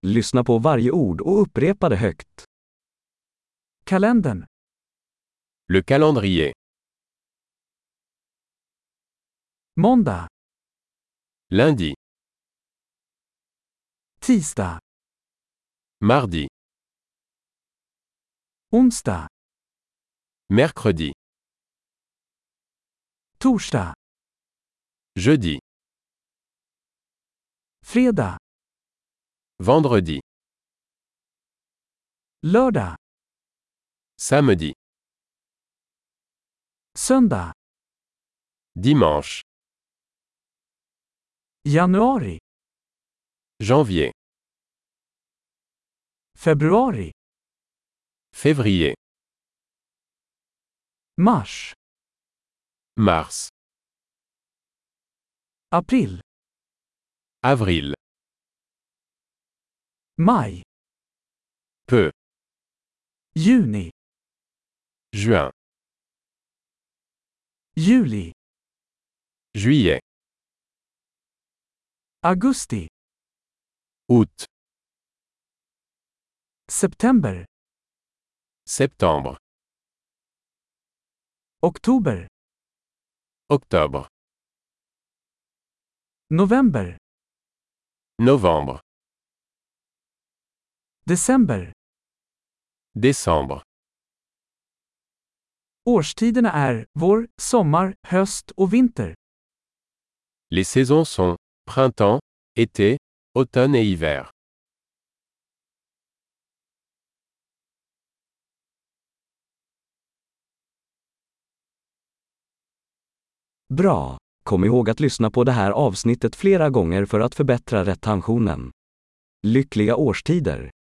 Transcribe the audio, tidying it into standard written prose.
Lyssna på varje ord och upprepa det högt. Kalendern. Le calendrier. Måndag. Lundi. Tisdag. Mardi. Onsdag. Mercredi. Torsdag. Jeudi. Fredag. Vendredi. Lördag. Samedi. Söndag. Dimanche. Januari. Janvier. Februari. Février. Mars. Mars. April. Avril. Maj. Peu. Juni. Juin. Juli. Juillet. Augusti. Août. September. Septembre. Oktober. Octobre. November. Novembre. December. Décembre. Årstiderna är vår, sommar, höst och vinter. Les saisons sont printemps, été, automne et hiver. Bra! Kom ihåg att lyssna på det här avsnittet flera gånger för att förbättra retentionen. Lyckliga årstider!